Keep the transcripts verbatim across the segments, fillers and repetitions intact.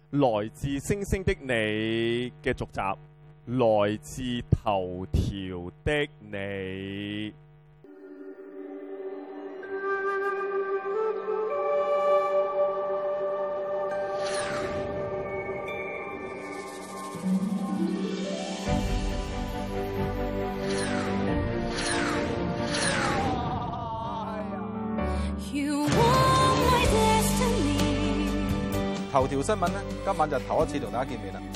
來自星星的你嘅續集，來自頭條的你。 頭條新聞咧，今晚就頭一次同大家見面啦。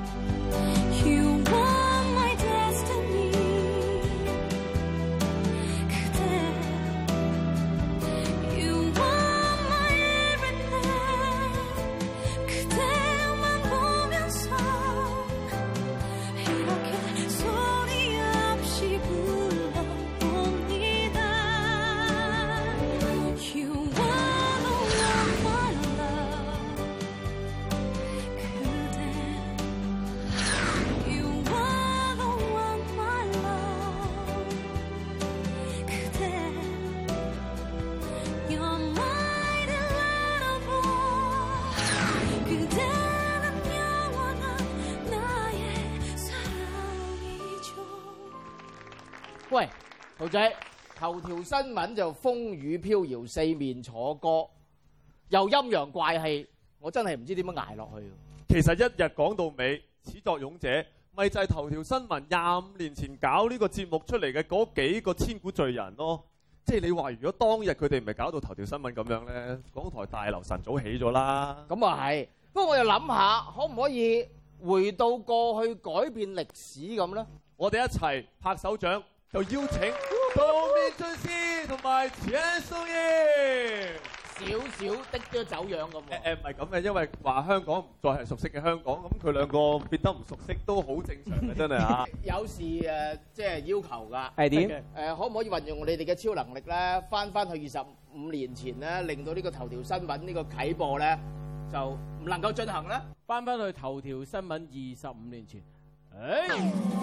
喂，豪仔，頭條新聞就風雨飄搖，四面楚歌，又陰陽怪氣，我真係唔知點樣捱落去。 其實一日講到尾，始作俑者咪就係頭條新聞廿五年前搞呢個節目出嚟嘅嗰幾個千古罪人咯。即係你話，如果當日佢哋唔係搞到頭條新聞咁樣咧，港台大樓晨早起咗啦。 咁啊係，不過我又諗下，可唔可以回到過去改變歷史咁咧？ 我哋一齊拍手掌。就邀請杜面俊師同埋錢素葉， 少少的咗走樣咁。 誒誒唔係咁嘅，因為話香港唔再係熟悉嘅香港，咁佢兩個變得唔熟悉都好正常嘅，真係嚇。 有時誒即係要求㗎。 係點？ 誒可唔可以運用你哋嘅超能力咧，翻翻去二十五年前咧，令到呢個頭條新聞呢個啟播咧就唔能夠進行咧？ 翻翻去頭條新聞二十五年前。誒。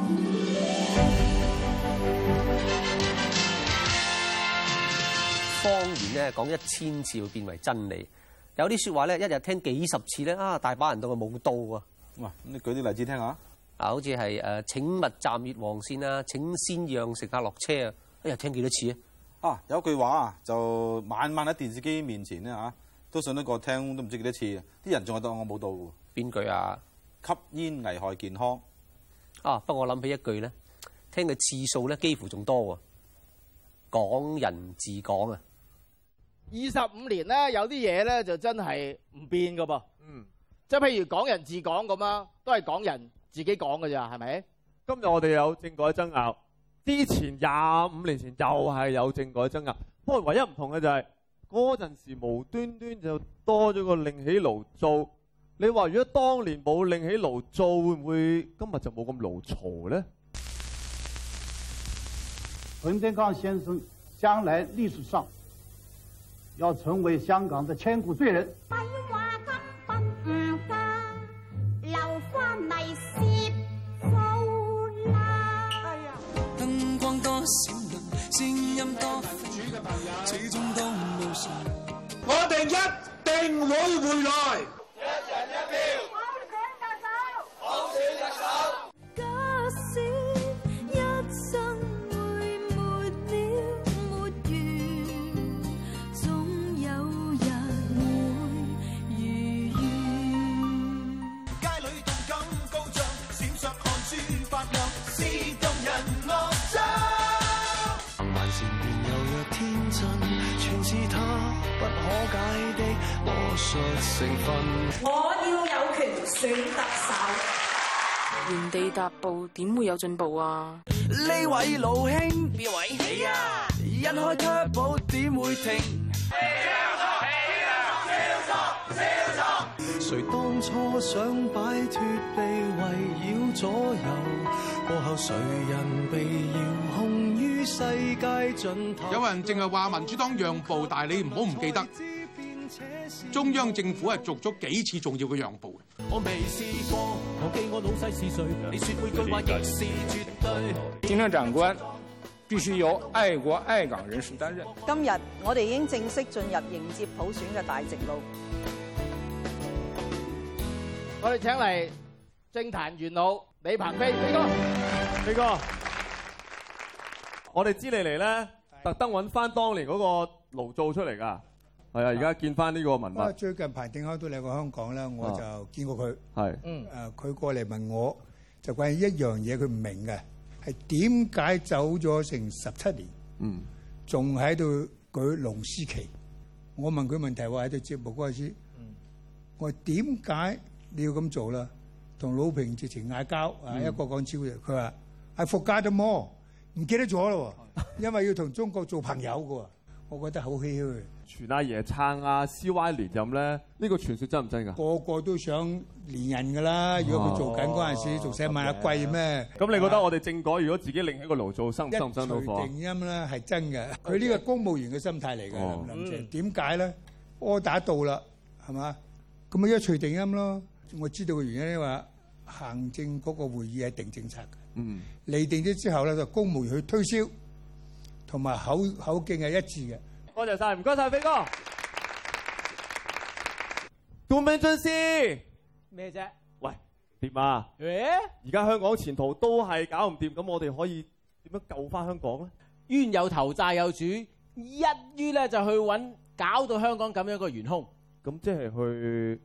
方言咧講一千次會變為真理，有啲説話咧一日聽幾十次咧啊，大把人當佢冇到啊！ 哇，咁你舉啲例子聽下。 啊，好似係誒請勿站越黃線啊，請先讓乘客落車啊，一日聽幾多次啊？ 啊，有句話啊，就晚晚喺電視機面前咧嚇，都信得過聽都唔知幾多次，啲人仲係當我冇到喎。 邊句啊？ 吸煙危害健康。 啊，不過我諗起一句咧，聽嘅次數咧幾乎仲多喎。港人治港啊！ 二十五年咧，有啲嘢咧就真係唔變噶噃。 嗯， 即係譬如港人治港咁啊，都係港人自己講㗎咋，係咪？ 今日我哋有政改爭拗，之前廿五年前又係有政改爭拗，不過唯一唔同嘅就係嗰陣時無端端就多咗個另起爐灶。你話如果當年冇另起爐灶，會唔會今日就冇咁勞嘈咧？ 陳德剛先生將來歷史上要成為香港的千古罪人。 燈光多閃亮，聲音多飛揚，始終都無常。 我哋一定會回來。 一人一票， 普選特首， 普選特首。 假使一生會沒了沒完，總有日會如願。 街裏動感高漲，閃爍汗珠發亮，是動人樂章。萬善變有若天真，全是他不可解的魔術成分。 我要有權選特首。 原地踏步點會有進步啊？ 呢位老兄，邊位？你啊！一開 turbo 點會停？誰當初想擺脫被圍繞左右，過後誰人被遙控於世界盡頭？ 有人淨係話民主黨讓步，但係你唔好唔記得，中央政府係做咗幾次重要嘅讓步嘅。 我未試過，我記我老細是誰？你說每句話亦是絕對。 行政長官必須由愛國愛港人士擔任。 今日我哋已經正式進入迎接普選嘅大直路。 我哋請嚟政壇元老李鵬飛飛哥， 飛哥，我哋知你嚟咧，特登揾翻當年嗰個爐灶出嚟㗎。係啊，而家見翻呢個文物。 最近彭定康都嚟過香港啦，我就見過佢。 係。 嗯。 誒，佢過嚟問我，就關於一樣嘢，佢唔明嘅係點解走咗成十七年， 嗯， 仲喺度舉龍獅旗。我問佢問題話喺度節目嗰陣時，我話點解你要咁做啦？同魯平直情嗌交，啊一個講超嘅，佢話係復加咗麼？唔記得咗咯，因為要同中國做朋友嘅喎，我覺得好唏噓。 傳阿爺撐阿 C Y 連任咧，呢個傳說真唔真㗎？ 個個都想連任㗎啦，如果佢做緊嗰陣時，仲使問阿貴咩？ 咁你覺得我哋政改如果自己另起個爐灶，生生唔生到火？ 一錘定音咧係真嘅，佢呢個公務員嘅心態嚟㗎，林林鄭。點解咧？柯打到啦，係嘛？咁咪一錘定音咯。我知道嘅原因咧話，行政嗰個會議係定政策嘅。 嗯。釐定咗之後咧，就公務員去推銷，同埋口口徑係一致嘅。 多謝晒，唔該晒，飛哥。杜明俊師咩啫？ 喂，點啊？ 誒， 而家香港前途都係搞唔掂，咁我哋可以點樣救翻香港咧？ 冤有頭債有主，一於咧就去揾搞到香港咁樣一個元兇。 咁即係去。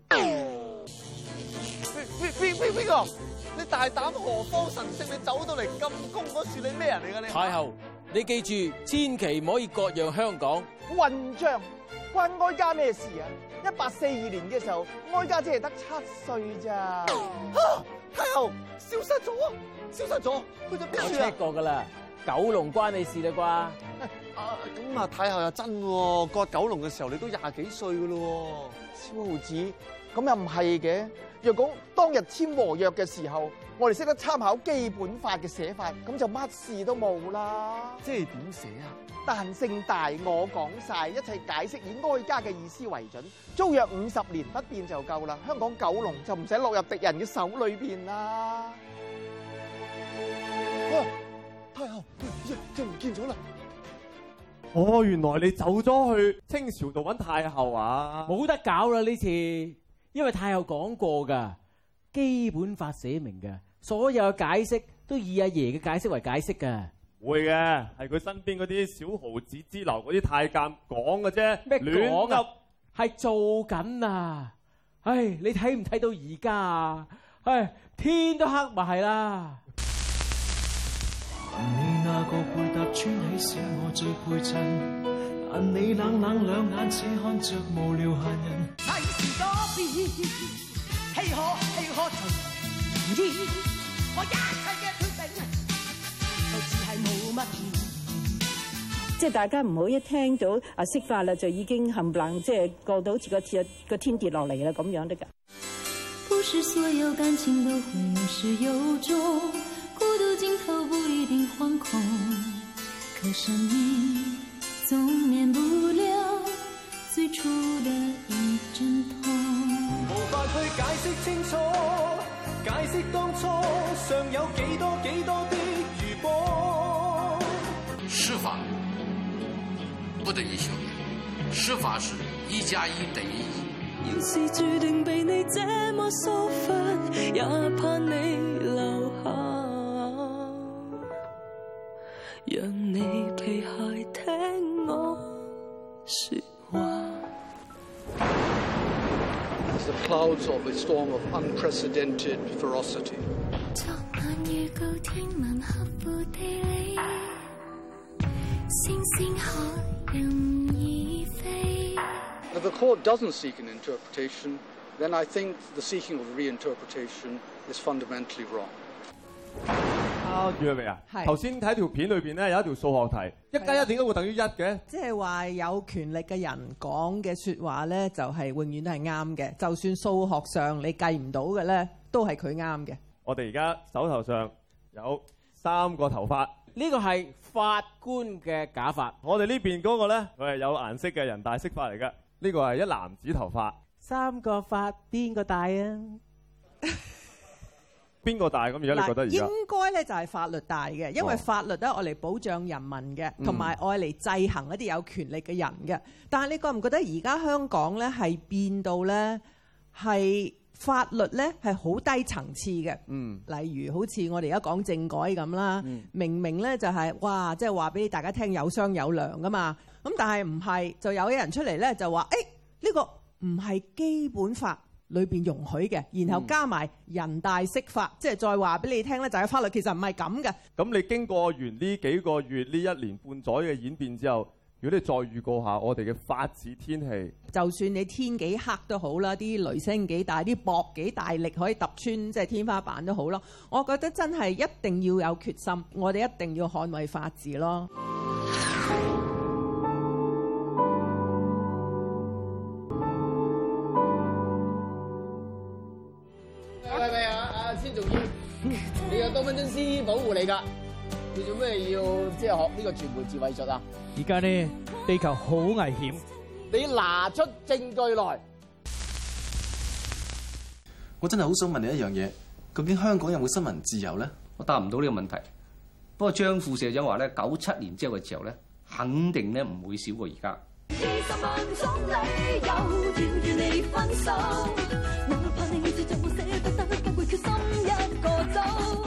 飛飛飛飛哥，你大膽何方神聖？你走到嚟金宮嗰處，你咩人嚟㗎你？ 太后，你記住，千祈唔可以割讓香港。 混帳，關哀家咩事啊？一八四二年嘅時候，哀家只係得七歲咋。 啊！太后消失咗啊！消失咗，去咗邊處啊？ 我 check 過㗎啦，九龍關你事啦啩？ 啊咁啊，太后又真喎，割九龍嘅時候你都廿幾歲㗎咯喎。 小豪子，咁又唔係嘅。若果當日簽和約嘅時候，我哋識得參考基本法嘅寫法，咁就乜事都冇啦。 即係點寫啊？ 彈性大，我講晒，一切解釋以哀家嘅意思為準。租約五十年不變就夠啦。香港九龍就唔使落入敵人嘅手裏邊啦。 啊！太后，就唔見咗啦！ 哦，原來你走咗去清朝度揾太后啊？ 冇得搞啦呢次，因為太后講過㗎，基本法寫明嘅，所有嘅解釋都以阿爺嘅解釋為解釋㗎。 會嘅，係佢身邊嗰啲小豪子之流嗰啲太監講嘅啫。 咩講啊？係做緊啊！唉，你睇唔睇到而家啊？唉，天都黑咪係啦。 你那個配搭穿起使我最配襯，但你冷冷兩眼似看着無聊閒人。世事多變，豈可豈可隨意？我一切嘅決定，就似係冇乜意。 即係大家唔好一聽到啊釋法啦，就已經冚唪唥即係過到好似個天個天跌落嚟啦咁樣得㗎。 不是所有感情都會有始有終，孤獨盡頭不一定惶恐，可生命總免不了最初的一陣痛。 無法去解釋清楚，解釋當初尚有幾多幾多的餘波。 司法不等於休業，司法是一加一等於一。 要是注定被你這麼疏忽，也怕你留下，讓你皮鞋聽我說話。 The clouds of a storm of unprecedented ferocity. 昨晚預告天文合乎地理，星星可任意飛。 If the court doesn't seek an interpretation, then I think the seeking of reinterpretation is fundamentally wrong. 啊，住未啊？頭先睇條片裏邊咧有一條數學題，一加一點解會等於一嘅？ 即係話有權力嘅人講嘅説話咧，就係永遠都係啱嘅。就算數學上你計唔到嘅咧，都係佢啱嘅。 我哋而家手頭上有三個頭髮， 呢個係法官嘅假髮。 我哋呢邊嗰個咧，佢係有顏色嘅人大釋法嚟嘅。呢個係一男子頭髮。 三個髮邊個大啊？ 邊個大咁？而家你覺得而家應該咧就係法律大嘅，因為法律咧愛嚟保障人民嘅，同埋愛嚟制衡一啲有權力嘅人嘅。但係你覺唔覺得而家香港咧係變到咧係法律咧係好低層次嘅。 嗯， 例如好似我哋而家講政改咁啦， 嗯、 明明咧就係、是、哇，即係話俾大家聽有商有量噶嘛。咁但係唔係，就有啲人出嚟咧就話，誒、欸、呢、這個唔係基本法裏邊容許嘅，然後加埋人大釋法，即係再話俾你聽咧，就係法律其實唔係咁嘅。 咁你經過完呢幾個月呢一年半載嘅演變之後，如果你再預告下我哋嘅法治天氣， 就算你天幾黑都好啦，啲雷聲幾大，啲雹幾大力可以揼穿即係天花板都好咯。我覺得真係一定要有決心，我哋一定要捍衛法治咯。 係咪啊？阿千仲要，你有多分鐘師保護你㗎？你做咩要即係學呢個傳媒自衛術啊？ 而家呢，地球好危險， 你拿出證據來。 我真係好想問你一樣嘢，究竟香港有冇新聞自由咧？ 我答唔到呢個問題。不過張副社長話咧，九七年之後嘅時候咧，肯定咧唔會少過而家。二十萬種理由要與你分手，哪怕你始終捨不得，不會決心一個走。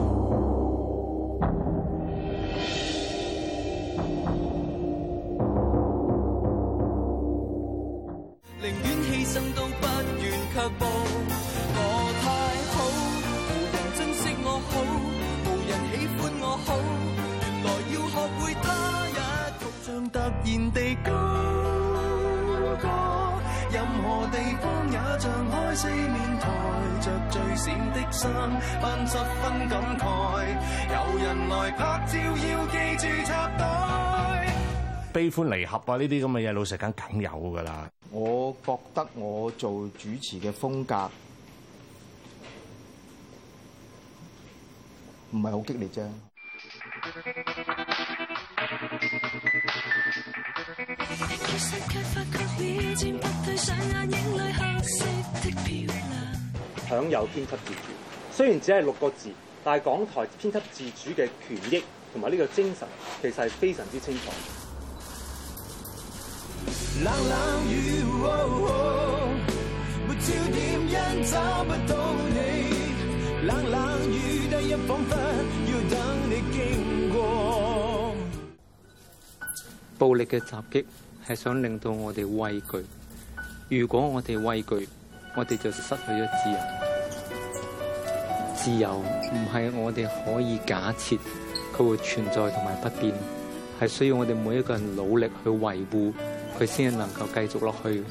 寧願犧牲都不願卻步，我太好，無人珍惜我好，無人喜歡我好，原來要學會他一套，像突然地高歌，任何地方也像開四面台，着最閃的衫，扮十分感慨，有人來拍照要記住插袋。 悲歡離合啊！呢啲咁嘅嘢，老實講梗有㗎啦。 我覺得我做主持嘅風格唔係好激烈啫。 享有編輯自主，雖然只係六個字，但係港台編輯自主嘅權益同埋呢個精神，其實係非常之清楚。冷冷雨，沒焦點因找不到你，冷冷雨第一彷彿要等你經過。 暴力嘅襲擊係想令到我哋畏懼，如果我哋畏懼，我哋就失去咗自由。自由唔係我哋可以假設佢會存在同埋不變，係需要我哋每一個人努力去維護。佢先能夠繼續落去。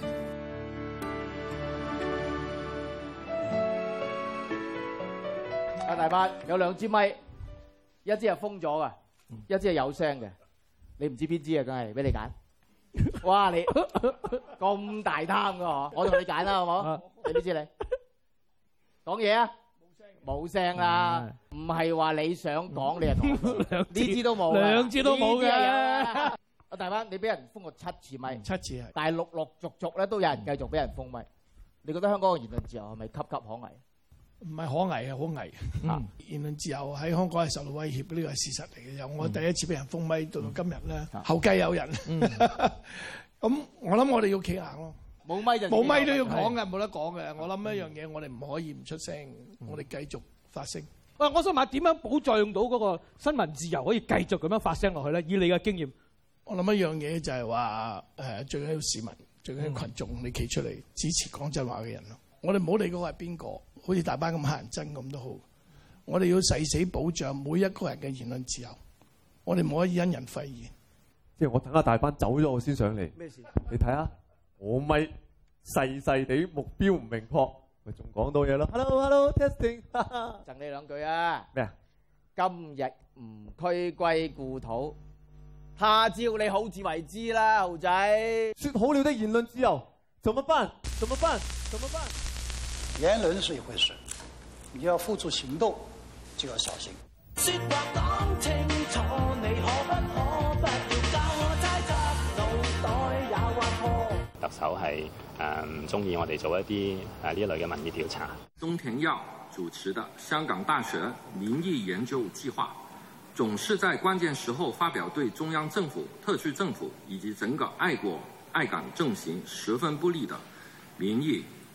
阿大伯有兩支咪，一支係封咗噶，一支係有聲嘅。你唔知邊支啊？梗係俾你揀。哇！你咁大貪噶嗬？我同你揀啦，好唔好？你邊支你？講嘢啊！冇聲啦，唔係話你想講你就講，呢支都冇， 兩支都冇嘅。 大班，你俾人封過七次咪， 七次係， 但係陸陸續續咧都有人繼續俾人封咪。你覺得香港嘅言論自由係咪岌岌可危？ 唔係可危啊，好危！嗯、言論自由喺香港係受到威脅，呢個係事實嚟嘅。由我第一次俾人封咪到到今日咧，嗯、後繼有人。咁、嗯、我諗我哋要企硬咯。 冇咪就冇咪都要講嘅，冇得講嘅。我諗一樣嘢，我哋唔可以唔出聲，嗯、我哋繼續發聲。 喂，我想問點樣保障到嗰個新聞自由可以繼續咁樣發聲落去咧？以你嘅經驗。 我諗一樣嘢就係話誒，最緊要市民、最緊要群眾，你企出嚟支持講真話嘅人咯。我哋唔好理嗰個係邊個，好似大班咁乞人憎咁都好。我哋要誓死保障每一個人嘅言論自由。我哋唔可以因人廢言。 即係我等阿大班走咗，我先上嚟。咩事？你睇下，我咪細細地目標唔明確，咪仲講到嘢咯。Hello，Hello，Testing， 贈你兩句啊。咩啊？今日唔驅歸故土。他朝你好自為之啦，豪仔。 説好了的言論自由，怎麼辦？怎麼辦？怎麼辦？ 言論是一回事，你要付諸行動，就要小心。説話講清楚，你可不可不要教我猜測，腦袋也挖破。 特首係誒唔中意我哋做一啲誒呢一類嘅民意調查。 鍾田耀主持的香港大學民意研究計劃。總是在關鍵時候發表對中央政府、特區政府以及整個愛國愛港政行十分不利的民意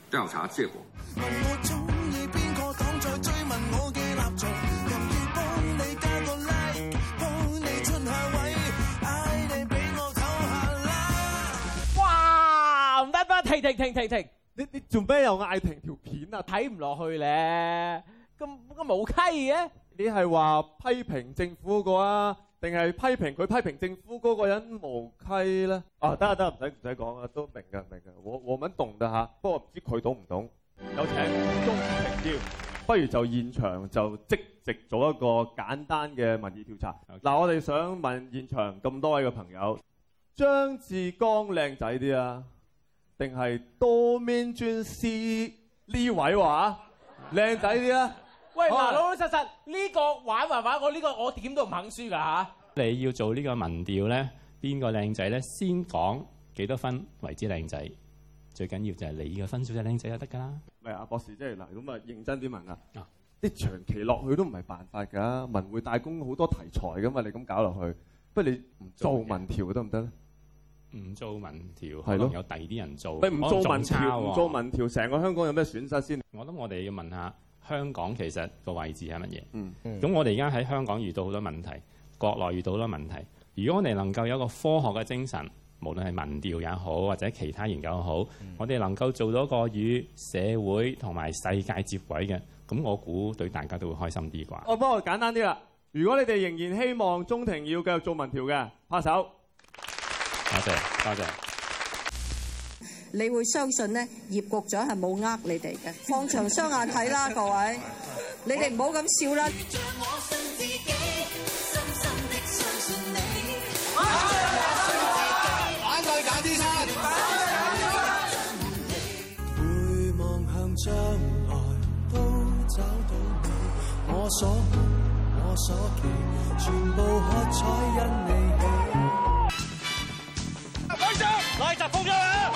調查結果。 問我中意邊個黨再追問我嘅立場，任意幫你加個 like， 幫你出下位，嗌你俾我唞下啦。 哇！唔得得，停停停停停！ 你你做咩又嗌停條片啊？ 睇唔落去咧，咁咁冇稽嘅。 你係話批評政府嗰個啊，定係批評佢批評政府嗰個人無稽咧？啊，得啊得啊，唔使唔使講啊，都明㗎明㗎，我我們懂得嚇，不過唔知佢懂唔懂？有請鍾庭耀，不如就現場就即席做一個簡單嘅民意調查。嗱、okay. ，我哋想問現場咁多位嘅朋友，張志剛靚仔啲啊，定係多面專師呢位話靚仔啲啊？ 喂，嗱，老老實實呢、這個玩玩玩，我呢、這個我點都唔肯輸㗎嚇。 你要做呢個民調咧，邊個靚仔咧？先講幾多分為之靚仔？最緊要就係你嘅分數就靚仔就得㗎啦。 唔係阿博士，即係嗱咁啊，認真啲問啊，啲長期落去都唔係辦法㗎。文匯大公好多題材㗎嘛，你咁搞落去，不如你唔做民調得唔得咧？ 唔做民調，可能有第二啲人做。 你唔做民調，唔做民調，成個香港有咩損失先？ 我諗我哋要問下香港其實個位置係乜嘢？ 嗯， 咁我哋而家喺香港遇到好多問題，國內遇到好多問題。如果我哋能夠有一個科學嘅精神，無論係民調也好，或者其他研究也好，嗯、我哋能夠做到一個與社會同埋世界接軌嘅，咁我估對大家都會開心啲啩。 我幫我簡單啲啦。如果你哋仍然希望鍾庭耀繼續做民調嘅，拍手。 多謝，多謝。 你會相信呢？葉局長係冇呃你哋嘅，放長雙眼睇啦，各位，你哋唔好咁笑啦。 會望向將來，都找到你。我所夢，我所期，全部喝彩因你起。 開張，來集封咗啦！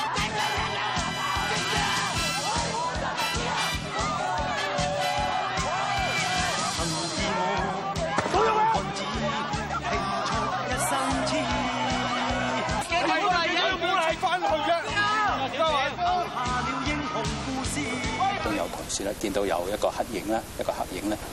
都有同事咧見到有一個黑影啦，一個黑影咧。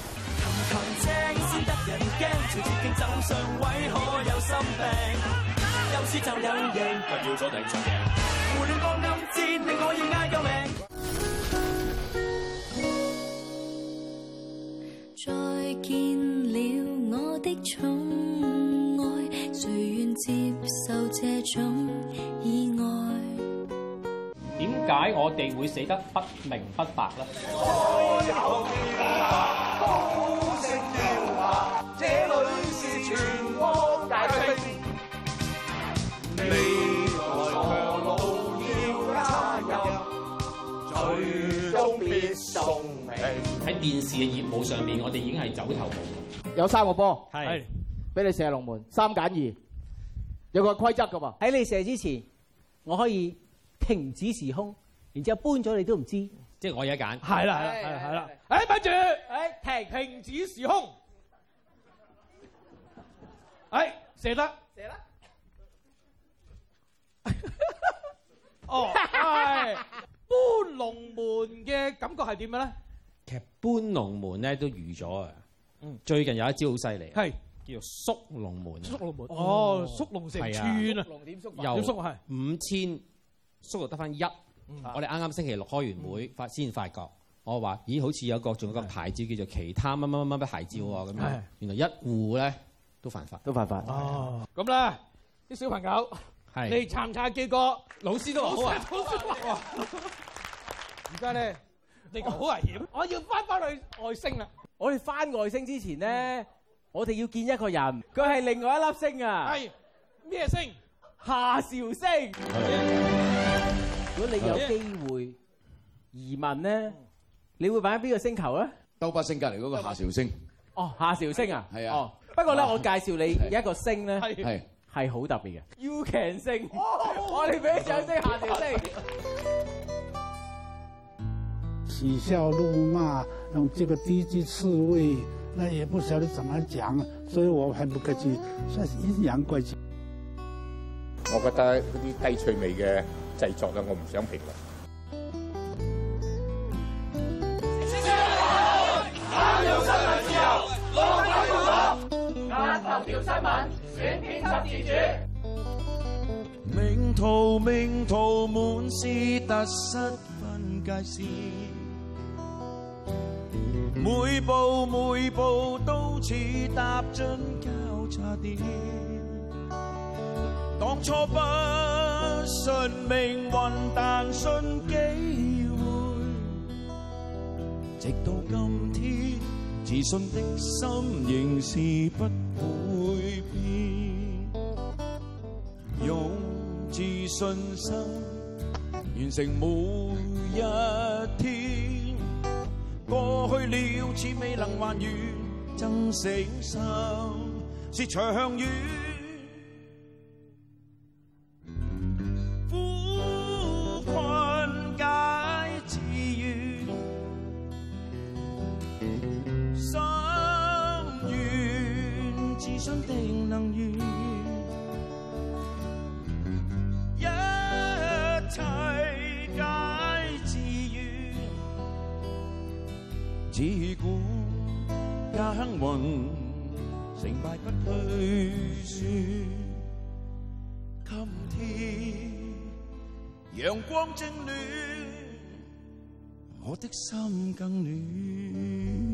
再見了我的寵愛，誰願接受這種意外？ 點解我哋會死得不明不白咧？ 這裏是全國大兵，未來長路要加油，最終必送命。 喺電視嘅業務上面，我哋已經係走投無路。 有三個波， 係俾你射龍門，三揀二，有個規則㗎喎。 喺你射之前，我可以停止時空，然之後搬咗你都唔知， 即係我有得揀。 係啦， 係係啦，係啦。誒，咪住，誒，停，停止時空。誒，射得， 射啦。 哦，係搬龍門嘅感覺係點嘅咧？ 其實搬龍門咧都預咗啊。嗯，最近有一招好犀利， 係叫做縮龍門。 縮龍門，哦，縮龍成串啊！ 龍點縮？ 由點縮係五千縮到得翻一。我哋啱啱星期六開完會，發先發覺，我話：咦，好似有個仲有個牌照叫做其他乜乜乜乜牌照喎咁樣。原來一戶咧都犯法， 都犯法。 哦，咁咧啲小朋友，你查唔查記過？老師都好啊。而家咧，你好危險，我要翻返去外星啦。 我哋翻外星之前咧，我哋要見一個人，佢係另外一粒星啊。 係咩星？ 夏韶星。如果你有機會移民咧，你會擺喺邊個星球咧？ 兜巴星隔離嗰個夏韶星。 哦，夏韶星啊。 係啊。 哦，不過咧，我介紹你有一個星咧， 係係好特別嘅。U Can 星。我哋俾啲掌聲夏韶星。 嬉笑怒罵，用這個低級刺蝟，那也不曉得怎麼講，所以我很不客氣，算是陰陽怪氣。 我覺得嗰啲低趣味嘅製作咧，我唔想評論。 頭條新聞，選編輯自主。 命途命途滿是得失分界線，每步每步都似踏進交叉點。當初不信命運，但信機會，直到今天，自信的心仍是不會變。用自信心完成每一天，過去了似未能還原，增勝心是長遠。苦困解自願，心願自信定能圓。一切皆自願，只管耕耘，成敗不去說。今天陽光正暖，我的心更暖。